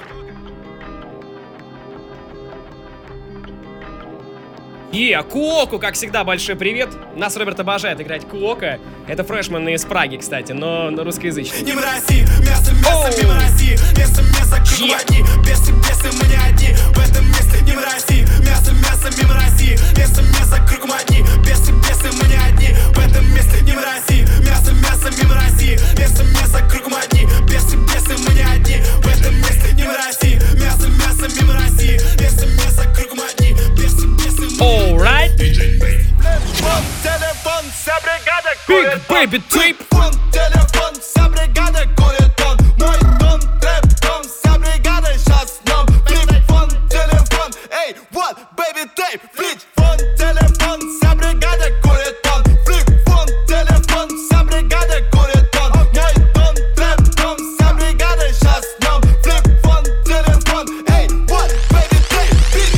Куоку, как всегда, большой привет. Нас Роберт обожает играть Куока. Это фрешмен из Праги, кстати, но русскоязычный. Не мрази, мясо, мимо России. Мясо, круг одни. Бесы, мы не одни. В этом месте не мрази. Мясо, мимо России. Мясо, кругом одни. Бесы, мы не одни. В этом месте не мрази. Мясо, мимо России. Мясо, кругом одни. Бесы, мы не одни. В этом месте не мрази. Мясо, мимо России. Мясо, кругом одни. Бесы, Alright. Телефон, вся бригада Big Baby Trip. Телефон, вся бригада курит он. Мой дом, трэп-дом, вся бригада сейчас днем. Телефон, эй, what, baby tape. Флip-фон, телефон, вся бригада курит он. Флip-фон, телефон, вся бригада курит он. Мой дом, трэп-дом, вся бригада сейчас днем. Флip-фон, телефон, эй, what, baby tape.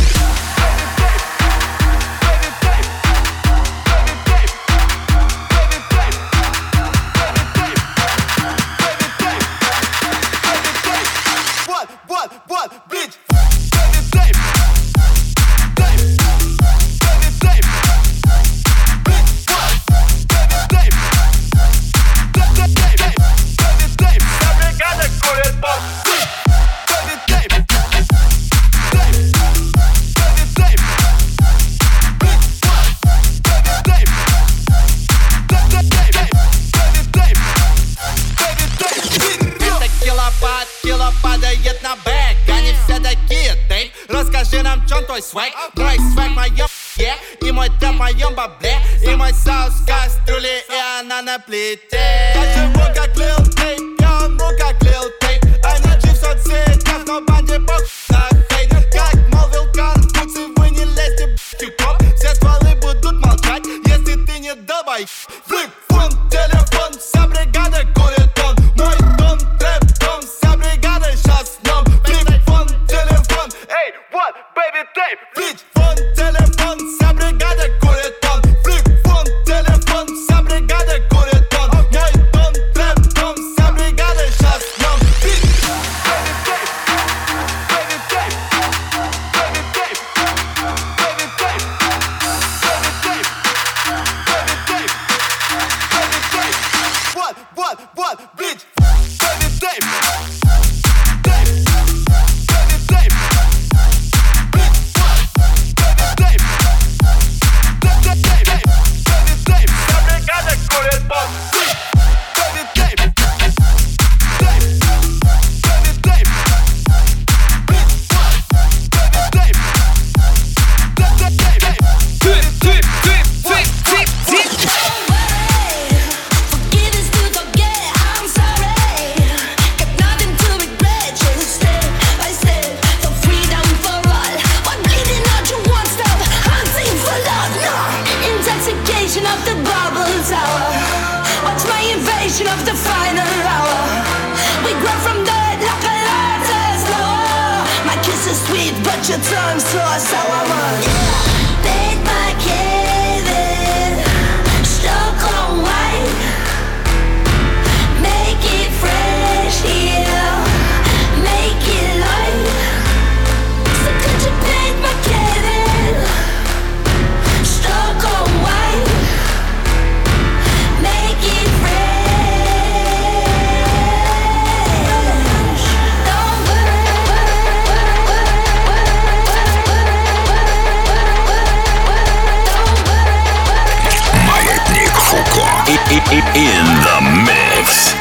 What, bitch? Baby tape, tape, baby tape, bitch. What? Baby tape, tape, baby tape. Вся бригада курит бомб. Baby tape, tape, baby tape, bitch. What? Baby tape, tape, baby tape. Это кило падает на бэк. Они все такие, тейп. Расскажи нам, чём твой свэг. Мой свэг в моем и мой тэп в моем бабле. И мой соус в кастрюле, и она на плите. Я живу как Lil Tape, я умру как Lil Tape. Они в соцсетях, но банде похуй на хейт. Как молвил Конфуций, вы не лезьте, тип-топ. Все стволы будут молчать, если ты не долбай. Флip-фон, телефон, вся бригада курит он. Мой дом, трэп-дом, вся бригада сейчас днем. Флip-фон, телефон, эй, what, baby tape. Флip-фон, телефон, вся бригада курит он. Флip-фон, телефон, вся бригада курит он. Мой дом, трэп-дом, вся бригада сейчас днем. Baby tape, baby tape. creation of the bubble tower. Watch my invasion of the final hour. We grow from dirt like a lotus flower. My kiss is sweet, but your tongue's so sour. Bake my cave in Stockholm white. Make it fresh here. Make it light. So could you bake my cave in Stockholm white? Make it fresh. Don't Маятник Фуко. In the mix.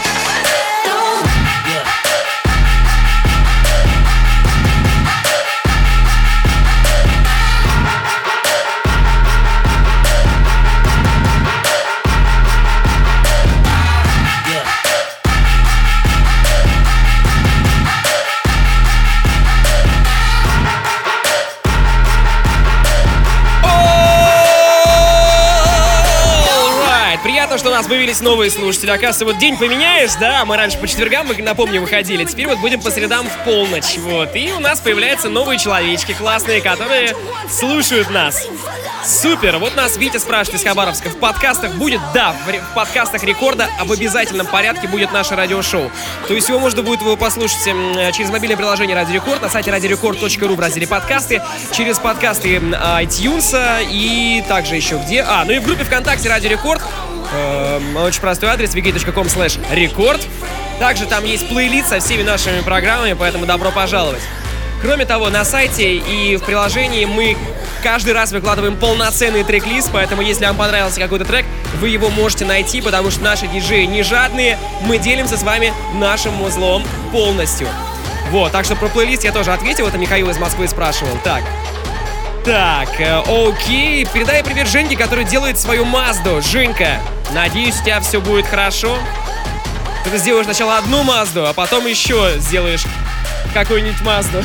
Приятно, что у нас появились новые слушатели. Оказывается, вот день поменяешь, да? Мы раньше по четвергам, напомню, выходили. Теперь вот будем по средам в полночь. Вот. И у нас появляются новые человечки классные, которые слушают нас. Супер! Вот нас Витя спрашивает из Хабаровска. В подкастах будет? Да, в подкастах Рекорда в обязательном порядке будет наше радиошоу. То есть его можно будет послушать через мобильное приложение Радио Рекорд, на сайте radiorecord.ru в разделе подкасты, через подкасты iTunes и также еще где? Ну и в группе ВКонтакте Радио Рекорд. Очень простой адрес wiki.com/record. Также там есть плейлист со всеми нашими программами, поэтому добро пожаловать. Кроме того, на сайте и в приложении мы каждый раз выкладываем полноценный трек-лист, поэтому если вам понравился какой-то трек, вы его можете найти, потому что наши диджеи не жадные, мы делимся с вами нашим музлом полностью. Вот, так что про плейлист я тоже ответил, это Михаил из Москвы спрашивал. Так, окей, передай привет Женьке, который делает свою Мазду. Женька, надеюсь, у тебя все будет хорошо. Ты сделаешь сначала одну Мазду, а потом еще сделаешь какую-нибудь Мазду.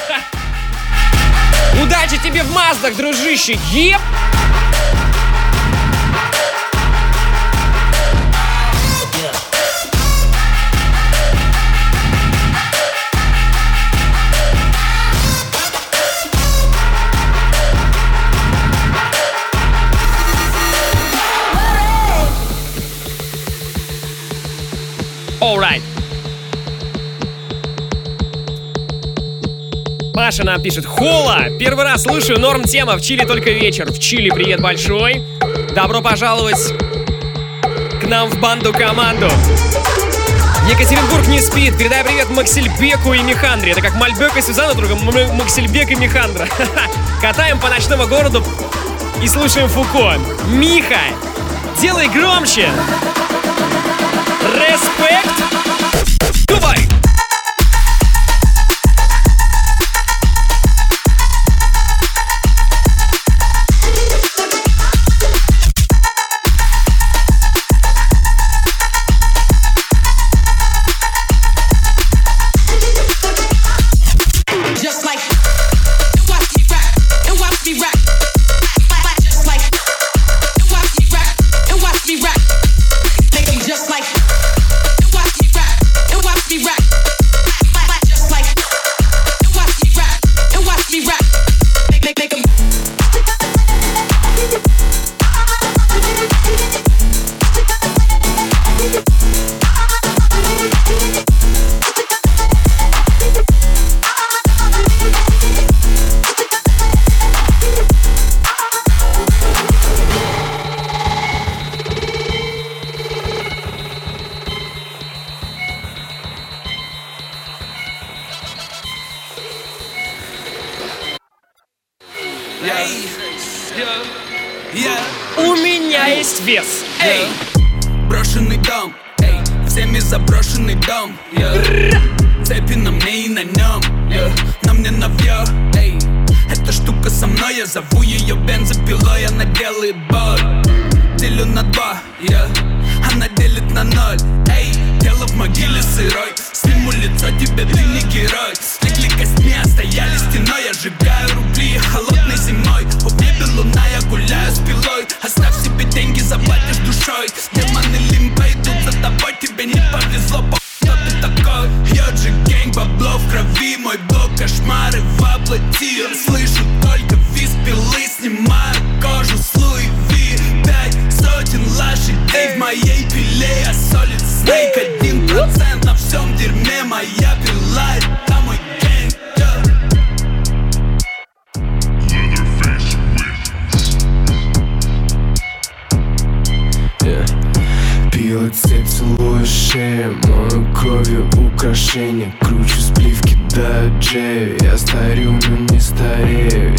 Удачи тебе в Маздах, дружище! Еп! Alright. Маша нам пишет: Хола! Первый раз слушаю, норм тема, в Чили только вечер. В Чили привет большой. Добро пожаловать к нам в банду-команду. Екатеринбург не спит. Передай привет Максельбеку и Михандре. Это как Мальбек и Сюзанна, только Максельбек и Михандра. Катаем по ночному городу и слушаем Фуко. Миха, делай громче. Респект. Давай. У меня есть вес. Эй! Брошенный дом, эй, всеми заброшенный дом. Цепи на мне и на нем, на мне навье, эй. Эта штука со мной, я зову ее бензопилой. Она делает боль, делю на два, она делит на ноль, эй. Тело в могиле сырой, сниму лицо тебе, ты не герой. Стекли костьми, стояли стеной. Я сжигаю рубли холодной зимой. В небе луна, я гуляю с пилой. Оставь себе деньги Пила цепь, целую шею, мою кровью украшения. Кручу спливки до Джею, я старю, но не старею,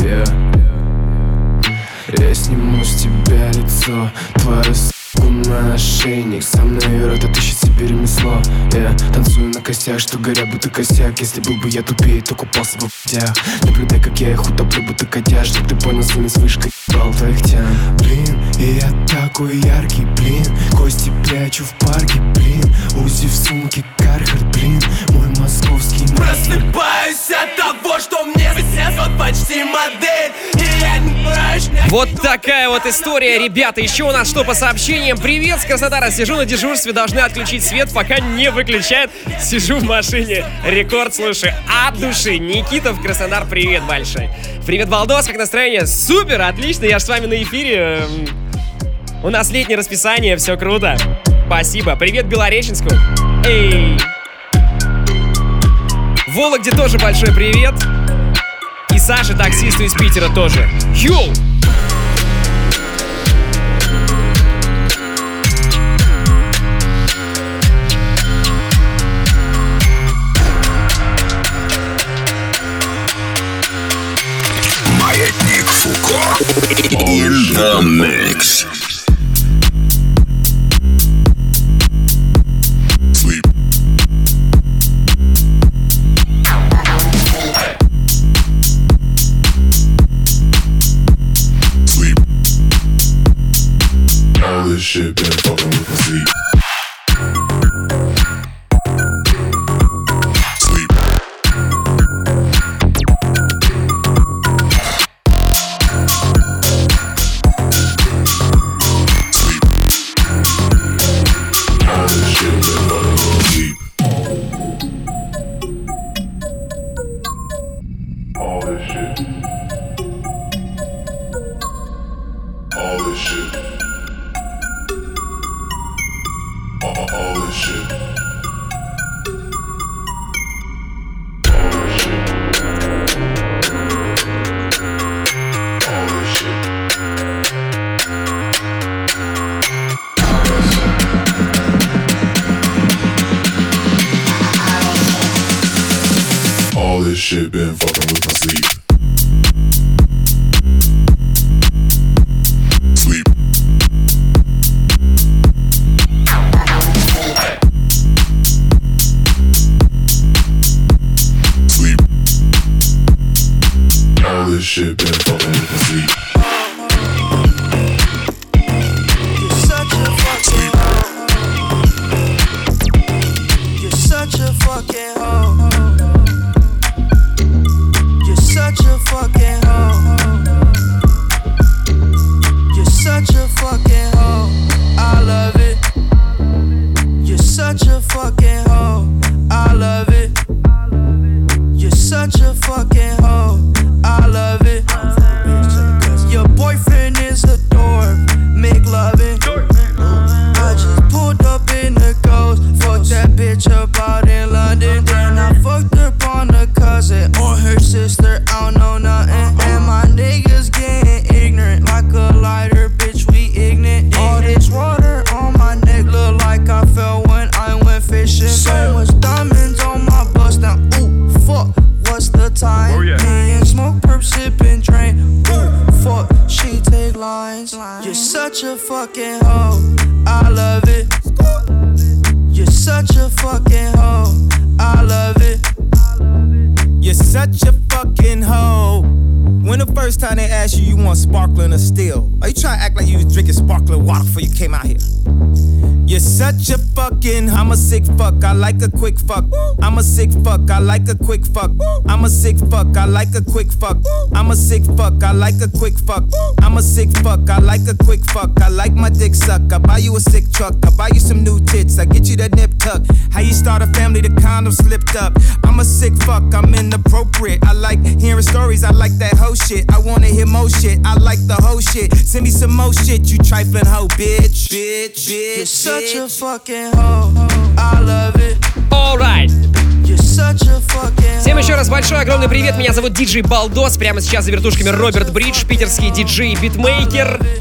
Я сниму с тебя лицо, твою с**ку на ошейник. Сам наверх, это ищет себе ремесло. Я танцую на костях, что горят будто косяк. Если был бы я тупее, то купался бы в путях. Наблюдай, как я их утоплю, будто котя. Чтоб ты понял, своими с вышкой ебал твоих тян. Блин, и я такой яркий, блин. Кости прячу в парке, блин. Узи в сумке, Кархард, блин. Мой московский мастер. Просыпаюсь от того, что мне снят почти модель. И я не прочь. Вот такая вот история, ребята. Еще у нас что по сообщениям? Привет с Краснодара. Сижу на дежурстве, должны отключить свет, пока не выключают. Сижу в машине. Рекорд, слушай, от души. Никита в Краснодар, привет большой. Привет, Балдос, как настроение? Супер, отлично, я ж с вами на эфире. У нас летнее расписание, все круто. Спасибо. Привет Белореченску. Эй. Вологде тоже большой привет. И Саше, таксисту из Питера, тоже. Йоу! Маятник Фуко. In the mix. Sleep. Sleep. All this shit been fucking with my sleep. Shit been fucking with my sleep. Sleep. Sleep. All this shit been fucking with my sleep. You're such a fucking hoe. You're such a fucking hoe. Such a fucking hoe. You're such a fucking hoe. I love it. You're such a fucking hoe. I love it. You're such a fucking hoe. I love it. Your boyfriend is a dork. Make loving. I just pulled up in the Ghost. Fucked that bitch up out in London. Then I fucked up on the cousin or her sister. I don't know nothing. And my niggas getting ignorant like a lighter, bitch. We ignorant. All this water on my neck look like I fell when I went fishing. So much diamonds on my bust now. Ooh, fuck. What's the time? Oh, yeah. Me and smoke, perp, sipping, drain. Ooh, fuck. She take lines. You're such a fucking hoe. I love it. You're such a fucking hoe. I love it. You're such a fucking hoe. When the first time they asked you, you want sparkling or still? Are you trying to act like you was drinking sparkling water before you came out here? You're such a fucking, I'm a sick fuck, I like a quick fuck. I'm a sick fuck, I like a quick fuck. I'm a sick fuck, I like a quick fuck. I'm a sick fuck, I like a quick fuck. I'm a sick fuck, I like a quick fuck. I like my dick suck, I buy you a sick truck. I buy you some new tits, I get you that nip tuck. How you start a family, the condom slipped up. I'm a sick fuck, I'm inappropriate. I like hearing stories, I like that hoe shit. I wanna hear more shit, I like the whole shit. Send me some more shit, you trifling hoe, bitch. Bitch, bitch, you're such a fucking hoe. I love it. Alright. You're such a fucking. Всем еще раз большой огромный привет. Меня зовут диджей Балдос. Прямо сейчас за вертушками Роберт Бридж, питерский диджей и битмейкер.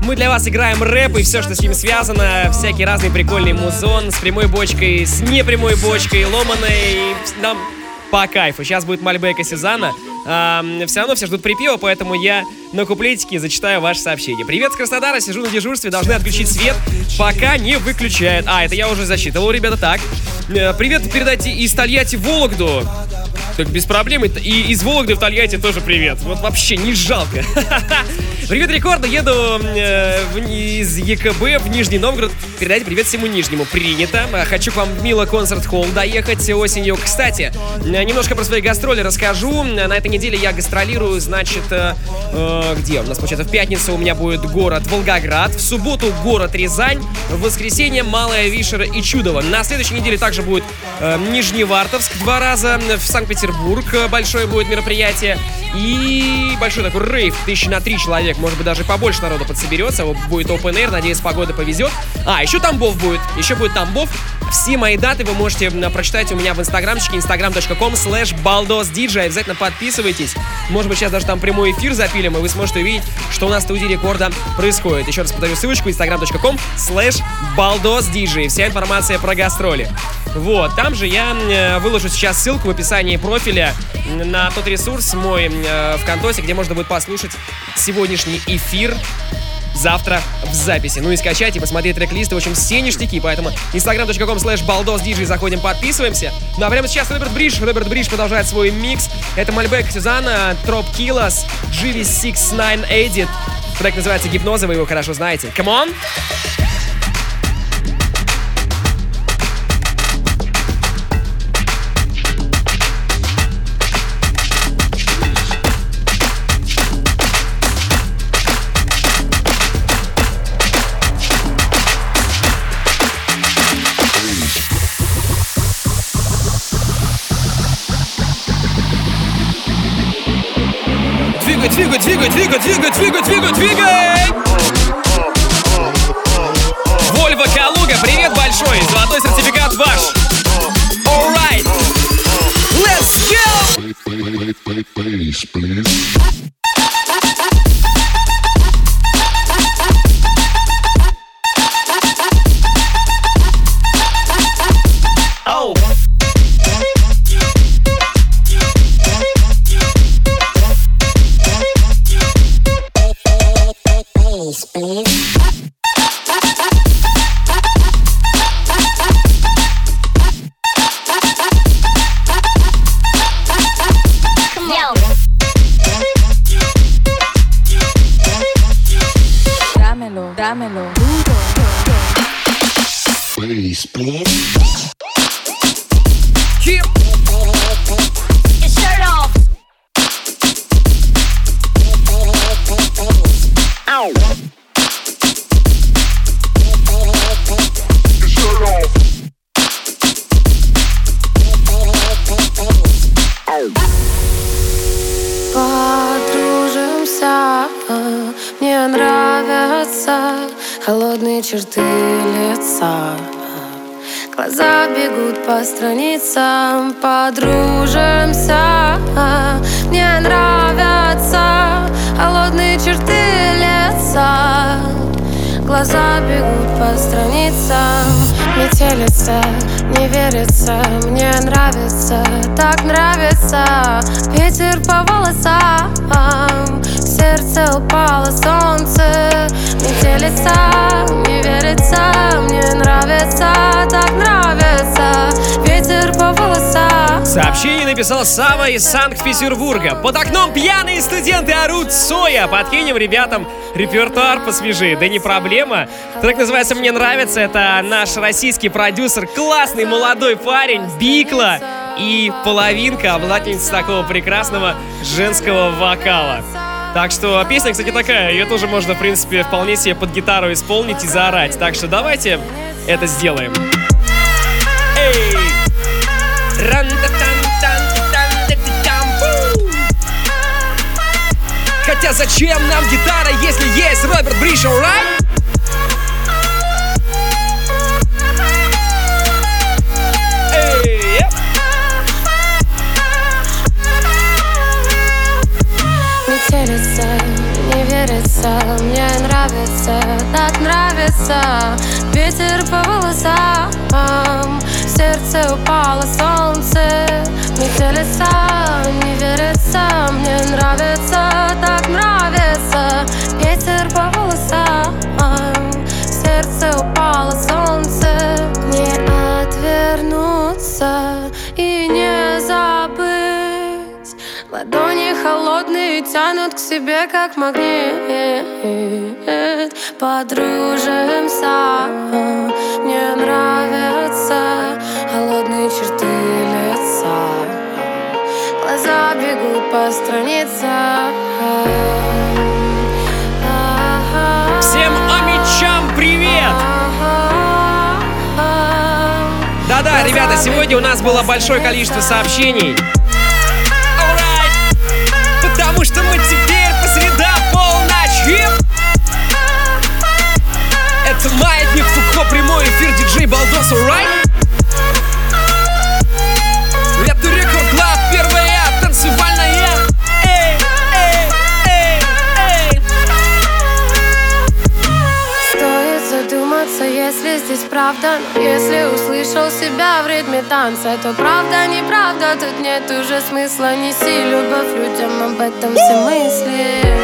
Мы для вас играем рэп и все, что с ним связано. Всякий разный прикольный музон с прямой бочкой, с непрямой бочкой, ломаной. Нам по кайфу. Сейчас будет Мальбек и Сюзанна. Все равно все ждут припева, поэтому я на куплетике зачитаю ваше сообщение. Привет с Краснодара, сижу на дежурстве, должны отключить свет, пока не выключают. Это я уже засчитывал, ребята, так. Привет передайте из Тольятти в Вологду. Так без проблем. И из Вологды в Тольятти тоже привет. Вот вообще не жалко. Привет, Рекорда. Еду из ЕКБ в Нижний Новгород. Передайте привет всему Нижнему. Принято. Хочу к вам в Мила концерт-холл доехать осенью. Кстати, немножко про свои гастроли расскажу. На этой неделе я гастролирую, значит, где у нас, получается, в пятницу у меня будет город Волгоград, в субботу город Рязань, в воскресенье Малая Вишера и Чудово. На следующей неделе также будет Нижневартовск 2 раза, в Санкт-Петербург большое будет мероприятие и большой такой рейв, 1000 на 3 человек, может быть даже побольше народу подсоберется, будет open air, надеюсь, погода повезет. Еще Тамбов будет, еще будет Тамбов. Все мои даты вы можете прочитать у меня в инстаграмчике, instagram.com/baldosdj. Обязательно подписывайтесь. Может быть, сейчас даже там прямой эфир запилим, и вы сможете увидеть, что у нас в студии Рекорда происходит. Еще раз повторю ссылочку, instagram.com/baldosdj. Вся информация про гастроли. Вот, там же я выложу сейчас ссылку в описании профиля на тот ресурс мой ВКонтосе, где можно будет послушать сегодняшний эфир завтра в записи. Ну и скачать и посмотреть трек-листы. В общем, все ништяки. Поэтому instagram.com/baldosdj. Заходим, подписываемся. Ну а прямо сейчас Роберт Бридж продолжает свой микс. Это Мальбек, Сюзанна, Троп Киллас, GV69 Edit. Трек называется «Гипноза», вы его хорошо знаете. Come on! Двигай! Вольво Калуга, привет большой, золотой сертификат ваш. Alright, let's go! Dámelo duro. Please, please. Keep your shirt off. Ow. Your shirt off. Ow. Подружимся, мне нравятся холодные черты лица. Глаза бегут по страницам. Подружимся, мне нравятся холодные черты лица. Глаза бегут по страницам. Метелица, не верится, мне нравится, так нравится. Ветер по волосам, в сердце упало солнце. Метелица, не верится, мне нравится, так нравится. Ветер по волосам. Сообщение написал Сава из Санкт-Петербурга. Под окном пьяные студенты орут соя. Подкинем ребятам репертуар посвежее. Да не проблема. Трек называется «Мне нравится». Это наш российский продюсер, классный молодой парень Бикла и половинка, обладательница такого прекрасного женского вокала. Так что песня, кстати, такая. Ее тоже можно, в принципе, вполне себе под гитару исполнить и заорать. Так что давайте это сделаем. Эй! Хотя зачем нам гитара, если есть Роберт Бридж, alright? Метелица, не верится, мне нравится, нравится. Ветер по волосам, в сердце упало солнце. Метелица, не верится, мне нравится, так нравится. Ветер по волосам, в сердце упало солнце. Не отвернуться и не забыть. Ладони холодные тянут к себе, как магнит. Подружимся, мне нравятся холодные черты лица. Глаза бегут по страницам. Всем амичам привет! Да-да, ребята, сегодня у нас было большое количество сообщений. Потому что мы теперь по средам полночи. Это Маятник Фуко, прямой эфир, диджей Балдос, alright? Это Рекорд Клаб, первая танцевальная. Эй, эй, эй, эй. Стоит задуматься, если здесь правда. Но если услышал себя в ритме танца, то правда, неправда, тут нет уже смысла. Неси любовь людям, об этом все мысли.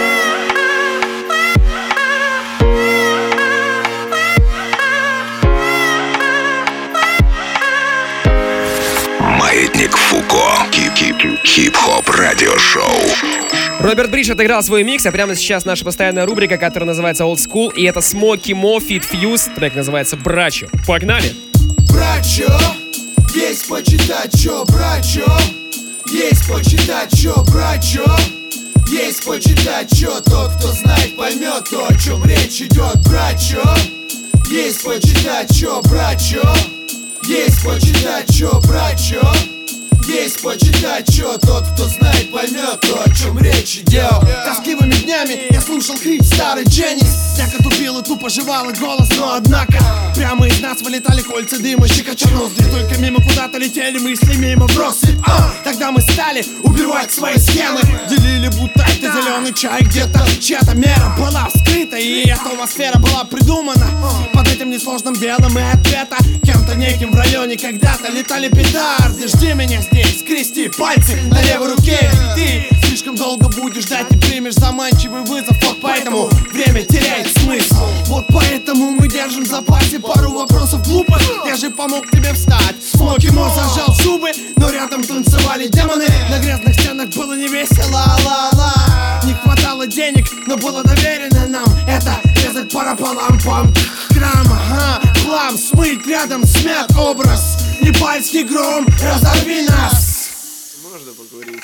Маятник Фуко. Хип-хоп радиошоу. Роберт Бридж отыграл свой микс, а прямо сейчас наша постоянная рубрика, которая называется Old School, и это Смоки Мо Фит Фьюз, трек называется «Брачо». Погнали! Брачо, есть почитать, чё, брачо. Есть почитать, чё, брачо. Есть почитать, чё, тот, кто знает, поймет то, о чем речь идет, брачо. Есть почитать, чё, брачо. Есть почитать, чё, брачо. Есть почитать, чё, тот, кто знает, поймет то, о чем речь идет. Тоскливыми днями я слушал хрип старый Дженнис. Всяко тупил и тупо жевал голос, но однако прямо из нас вылетали кольца дыма, щекоча ноздри. Только мимо куда-то летели мысли, мимо вбросы. Тогда мы стали убивать свои схемы. Делили будто это зеленый чай где-то. Чья-то мера была вскрыта, и атмосфера была придумана. Под этим несложным делом и ответа кем-то неким в районе когда-то летали петарды. Жди меня здесь, скрести пальцы на левой руке. Ты слишком долго будешь ждать и примешь заманчивый вызов. Вот поэтому время теряет смысл. Вот поэтому мы держим в запасе пару вопросов глупых. Я же помог тебе встать. Смоки Мо зажал зубы, но рядом танцевали демоны. На грязных стенах было не весело, ла-ла. Не хватало денег, но было доверено нам это резать параполам-пам. Грамма, хлам, смыть рядом смят образ. Непальский гром, разорви нас. Можно поговорить?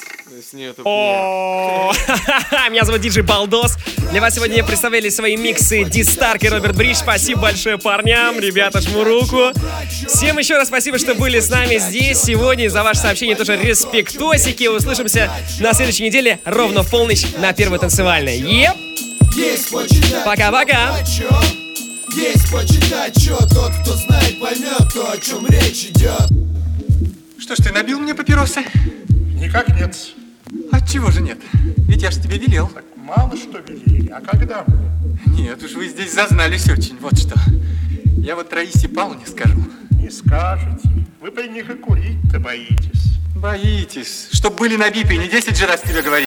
Меня зовут диджей Балдос. Для вас сегодня представляли свои миксы Ди Старк и Роберт Бридж. Спасибо большое парням, ребята, жму руку. Всем еще раз спасибо, что были с нами здесь сегодня. За ваше сообщение тоже респектосики. Услышимся на следующей неделе ровно в полночь на первой танцевальной. Еп! Пока-пока! Есть почитать, чё, тот, кто знает, поймет то, о чем речь идет. Что ж, ты набил мне папиросы? Никак нет. Отчего же нет? Ведь я ж тебе велел. Так мало что велели, а когда? Нет уж, вы здесь зазнались очень, вот что. Я вот Раисе Павловне скажу. Не скажете. Вы при них и курить-то боитесь. Боитесь. Чтоб были набиты, не 10 же раз тебе говорить.